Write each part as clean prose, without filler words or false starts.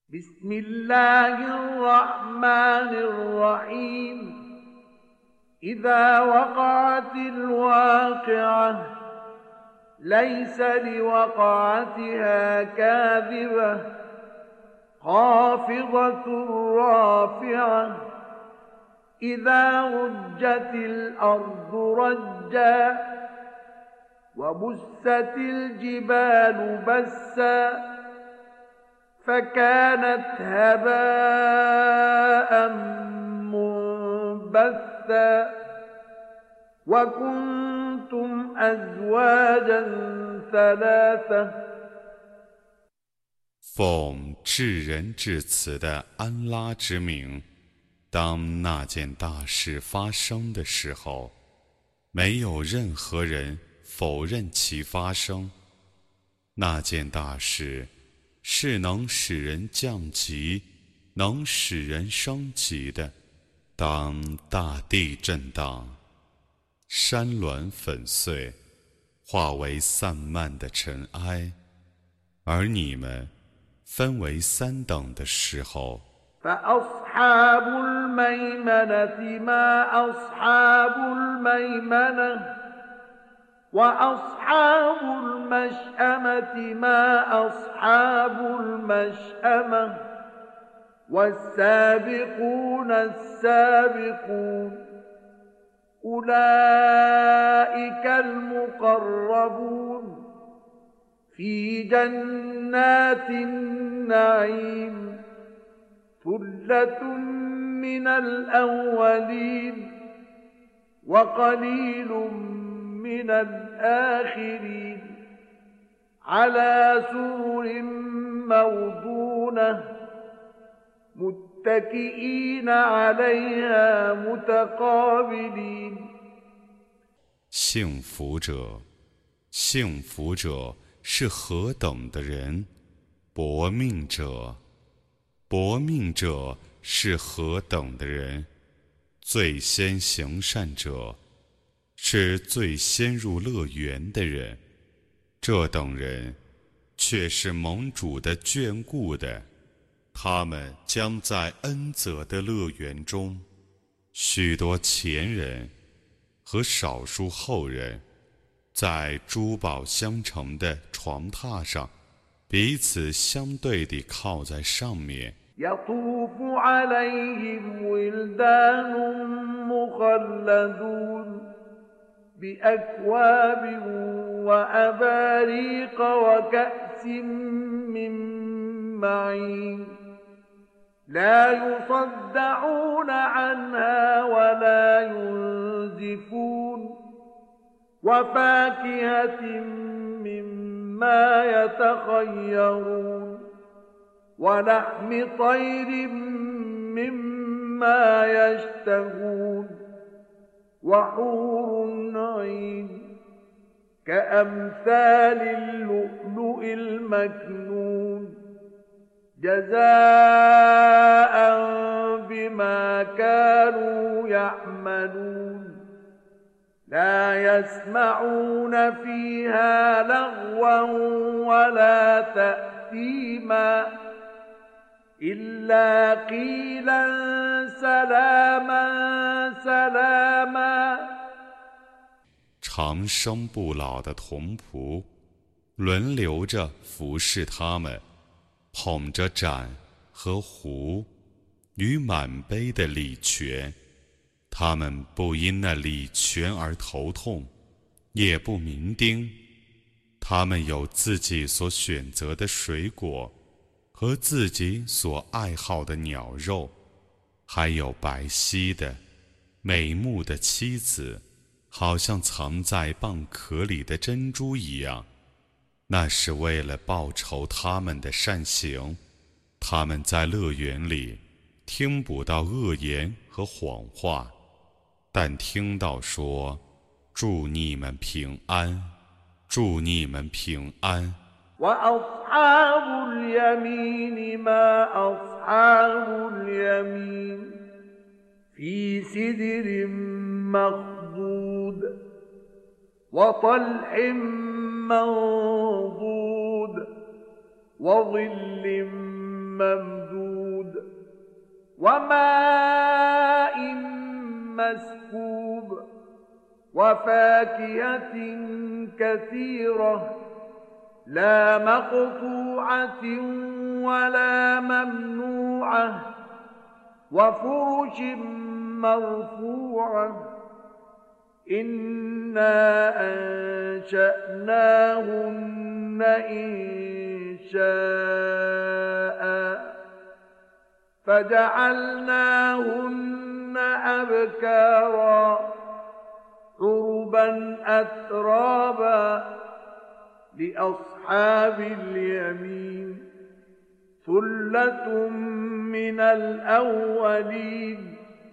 بسم الله الرحمن الرحيم إذا وقعت الواقعة ليس لوقعتها كاذبة خافضة رافعة إذا رجت الأرض رجا وبست الجبال بسا فكانت هباء منبثا وكنتم أزواجا ثلاثة 奉至仁至慈的安拉之名，当那件大事发生的时候，没有任何人否认其发生。那件大事是能使人降级，能使人升级的。当大地震荡，山峦粉碎，化为散漫的尘埃，而你们分为三等的时候， فأصحاب الميمنة ما أصحاب الميمنة وأصحاب المشأمة ما أصحاب المشأمة والسابقون السابقون أولئك المقربون في جنات النعيم ثلة من الأولين وقليل من الآخرين على سرر موضونة متكئين عليها متقابلين 幸福者，幸福者是何等的人！薄命者，薄命者是何等的人！最先行善者是最先入乐园的人，这等人却是盟主的眷顾的，他们将在恩泽的乐园中，许多前人和少数后人在珠宝相承的床榻上，彼此相对地靠在上面。 يطوف عليهم ولدان مخلدون بأكواب وأباريق وكأس من معين لا يصدعون عنها ولا ينزفون وفاكهة مما يتخيرون ولحم طير مما يشتهون وحور عين كأمثال اللؤلؤ المكنون جزاء بما كانوا يعملون لا يسمعون فيها لغوا ولا تأثيما إلا قيلا سلاما سلاما 长生不老的童仆轮流着服侍他们，捧着盏和壶与满杯的礼泉，他们不因那礼泉而头痛，也不酩酊。他们有自己所选择的水果和自己所爱好的鸟肉，还有白皙的美目的妻子，好像藏在蚌壳里的珍珠一样。那是为了报酬他们的善行。他们在乐园里听不到恶言和谎话，但听到说祝你们平安，祝你们平安。 وأصحاب اليمين ما أصحاب اليمين في سدر مخضود وطلح منضود وظل ممدود وماء مسكوب وفاكهة كثيرة لا مقطوعة ولا ممنوعة وفرش مرفوعة إنا أنشأناهن إنشاء فجعلناهن أبكارا عربا أترابا لأصحاب اليمين ثلة من الأولين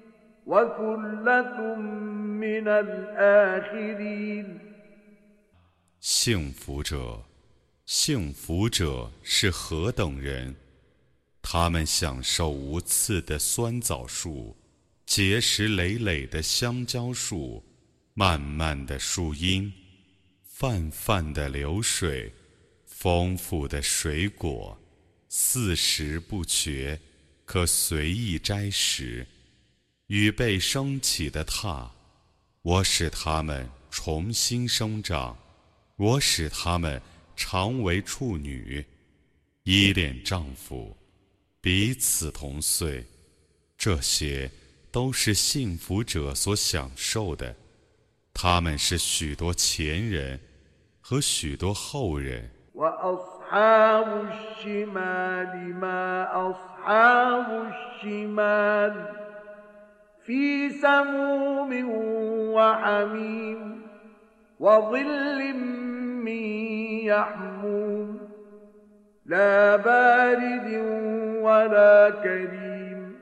وثلة من الآخرين 幸福者，幸福者是何等人？他们享受无刺的酸枣树，结实累累的香蕉树，漫漫的树荫，泛泛的流水，丰富的水果，四时不绝，可随意摘食。与被升起的榻，我使它们重新生长，我使它们常为处女，依恋丈夫，彼此同岁。这些都是幸福者所享受的，他们是许多前人和许多后人。 وأصحاب الشمال ما أصحاب الشمال في سموم وحميم وظل من يحموم لا بارد ولا كريم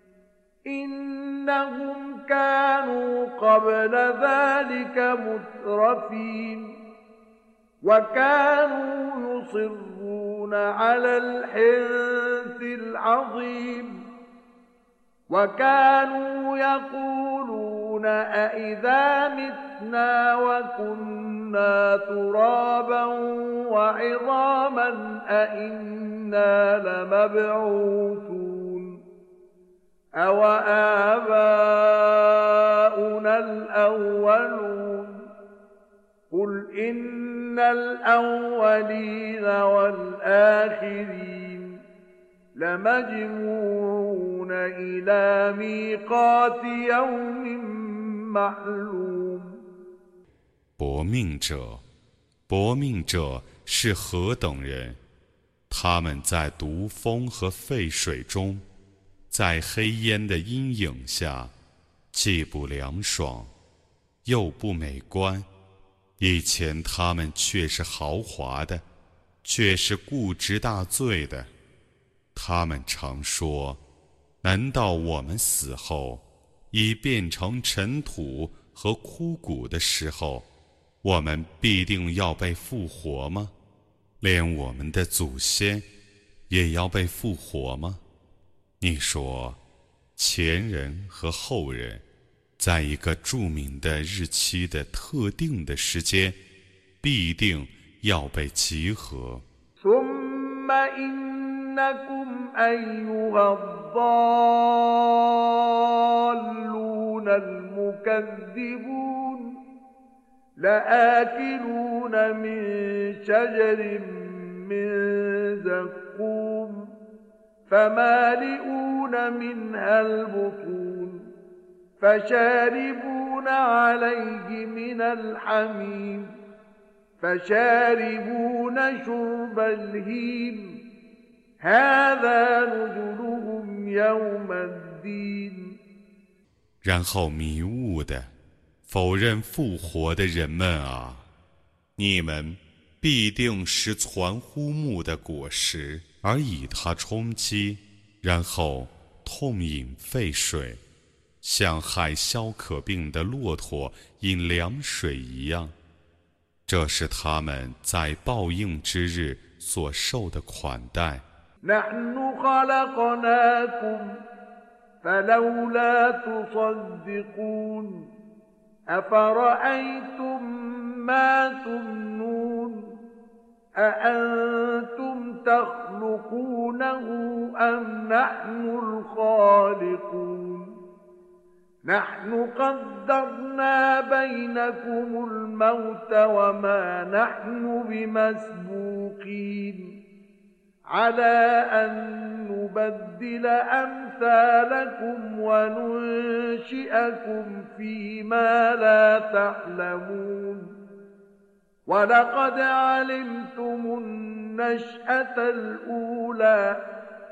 إنهم كانوا قبل ذلك مترفين وكانوا يصرون على الحنث العظيم وكانوا يقولون أإذا متنا وكنا ترابا وعظاما أإنا لمبعوثون أوآباؤنا الأولون قل إن الأولين والآخرين لمجموعون إلى ميقات يوم معلوم 薄命者，薄命者是何等人？他们在毒风和沸水中，在黑烟的阴影下，既不凉爽，又不美观。以前他们却是豪华的，却是固执大罪的。他们常说：难道我们死后，已变成尘土和枯骨的时候，我们必定要被复活吗？连我们的祖先也要被复活吗？你说，前人和后人在一个著名的日期的特定的时间，必定要被集合。 ثم إنكم أيها الضالون المكذبون لآكلون من شجر من زقوم فمالئون منها البطون فشاربون عليه من الحميم فشاربون شرب الهيم هذا نزلهم يوم الدين 然后迷雾的否认复活的人们啊，你们必定是攒乎木的果实，而以它充饥，然后痛饮沸水，像害消渴病的骆驼饮凉水一样。这是他们在报应之日所受的款待。 نحن خلقناكم فلولا تصدقون أفرأيتم ما تمنون أأنتم تخلقونه أم نحن الخالقون نحن قدرنا بينكم الموت وما نحن بمسبوقين على أن نبدل أمثالكم وننشئكم فيما لا تعلمون ولقد علمتم النشأة الأولى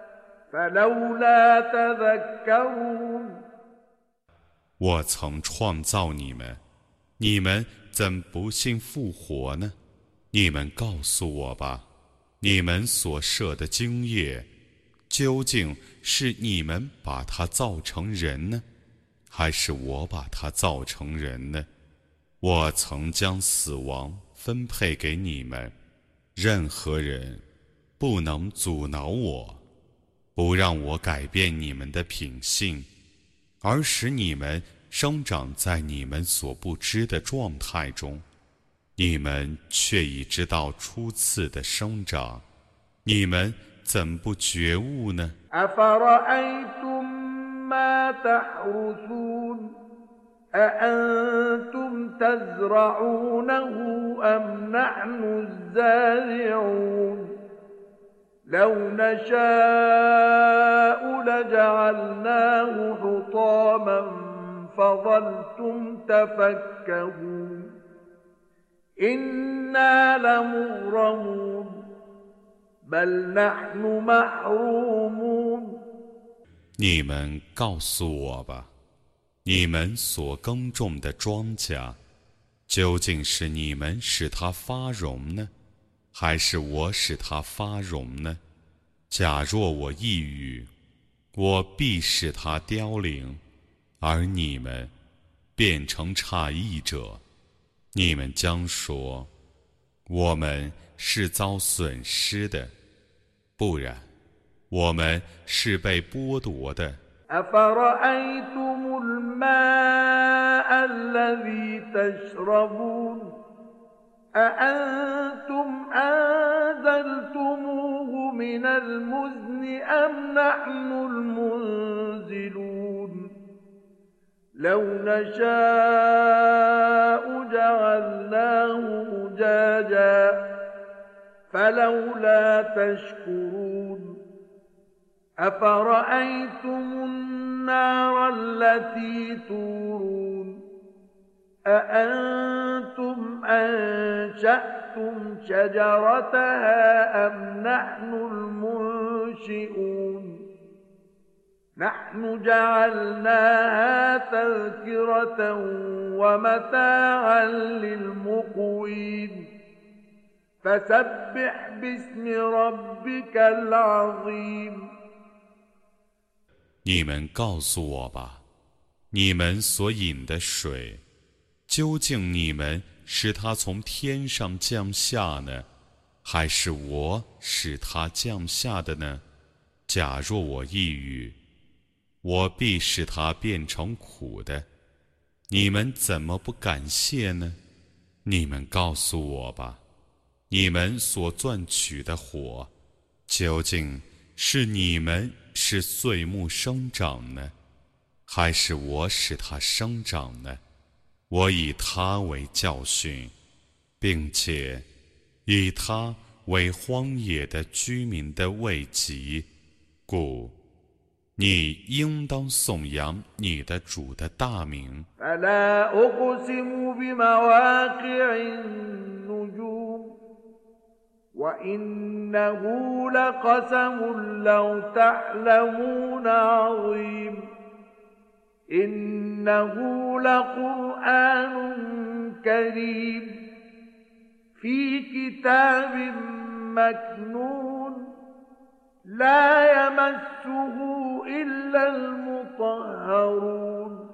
فلولا تذكرون 我曾创造你们，你们怎不信复活呢？你们告诉我吧，你们所设的精业，究竟是你们把它造成人呢，还是我把它造成人呢？我曾将死亡分配给你们，任何人不能阻挠我，不让我改变你们的品性，而使你们生长在你们所不知的状态中，你们却已知道初次的生长，你们怎不觉悟呢？ أفرأيتم ما تحرثون أأنتم تزرعونه أم نحن الزارعون لو نشاء لجعلناه حطاما فظلتم تفكهون إنا لمغرمون بل نحن محرومون 你们告诉我吧，你们所耕种的庄稼，究竟是你们使它发荣呢，还是我使它发荣呢？假若我一语，我必使它凋零，而你们变成诧异者，你们将说，我们是遭损失的，不然我们是被剥夺的。 أفرأيتم الماء الذي تشربون أأنتم أنزلتموه من المزن أم نحن المنزلون لو نشاء جعلناه أجاجا فلولا تشكرون أفرأيتم النار التي تورون أأنتم أنشأتم شجرتها أم نحن المنشئون نحن جعلناها تذكرة ومتاعا للمقوين فسبح باسم ربك العظيم 你们告诉我吧，你们所饮的水，究竟你们使它从天上降下呢，还是我使它降下的呢？假若我一语，我必使它变成苦的，你们怎么不感谢呢？你们告诉我吧，你们所钻取的火，究竟是你们使碎木生长呢，还是我使它生长呢？我以它为教训，并且以它为荒野的居民的慰藉，故你应当颂扬你的主的大名。 فلا أقسم بمواقع النجوم وإنه لقسم لو تعلمون عظيم إنه لقرآن كريم في كتاب مكنون لا يمسه إلا المطهرون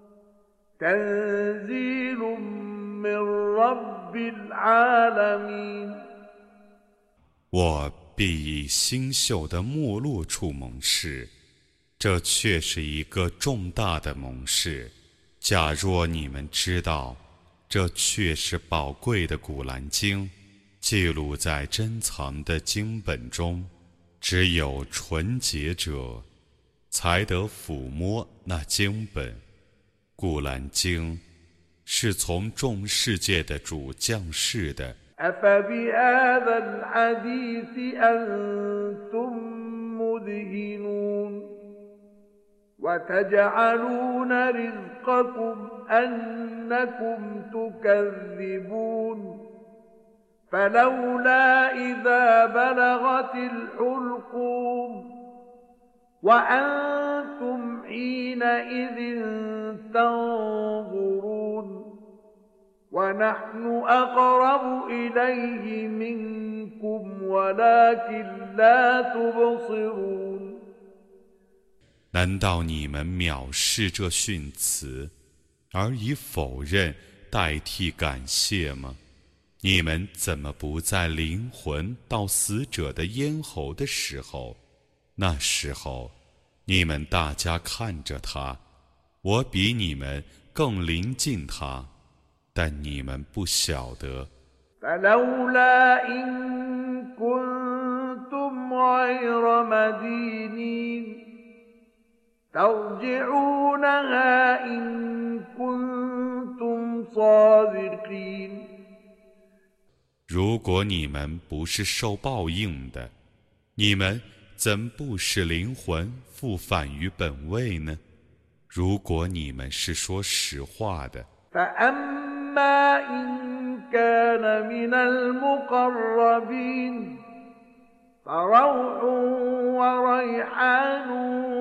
تنزيل من رب العالمين 我必以星宿的没落处盟誓，这却是一个重大的盟誓。假若你们知道，这却是宝贵的古兰经， 记录在珍藏的经本中，只有纯洁者才得抚摸那经本。古兰经是从众世界的主降世的。 أفبهذا الحديث أنتم مدهنون وتجعلون رزقكم أنكم تكذبون فلولا إذا بلغت الحلقوم وأنتم حينئذ تنظرون ونحن أقرب إليه منكم ولكن لا تبصرون 难道你们藐视这训词，而以否认代替感谢吗？你们怎么不在灵魂到死者的咽喉的时候？那时候，你们大家看着他，我比你们更临近他，但你们不晓得。 فلولا إن كنتم غير مدينين ترجعونها إن كنتم صادقين 如果你们不是受报应的，你们怎不使灵魂复返于本位呢？如果你们是说实话的。 فأما إن كان من المقربين فروح وريحان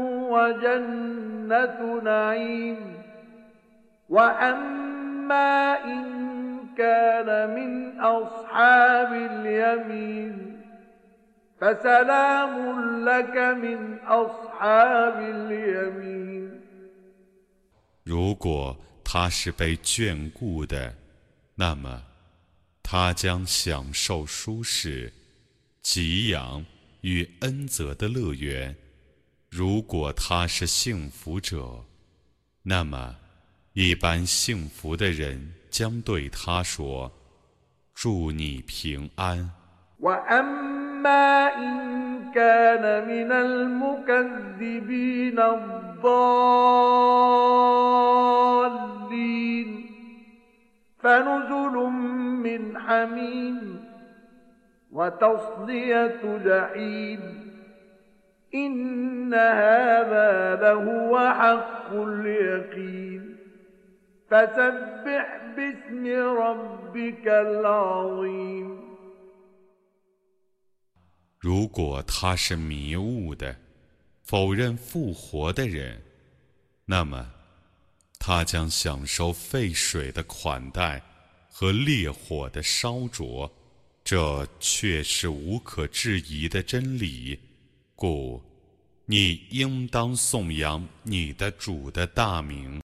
وجنة نعيم وأما إن كان من أصحاب اليمين فسلام لك من أصحاب اليمين 如果他是被眷顾的，那么他将享受舒适、给养与恩泽的乐园。如果他是幸福者，那么一般幸福的人将对他说：“祝你平安。” وأما إن كان من المكذبين الضالين فنزل من حميم وتصلية جحيم إن هذا لهو حق اليقين فسبح باسم ربك العظيم 如果他是迷雾的、否认复活的人，那么他将享受沸水的款待和烈火的烧灼，这却是无可置疑的真理。故你应当颂扬你的主的大名。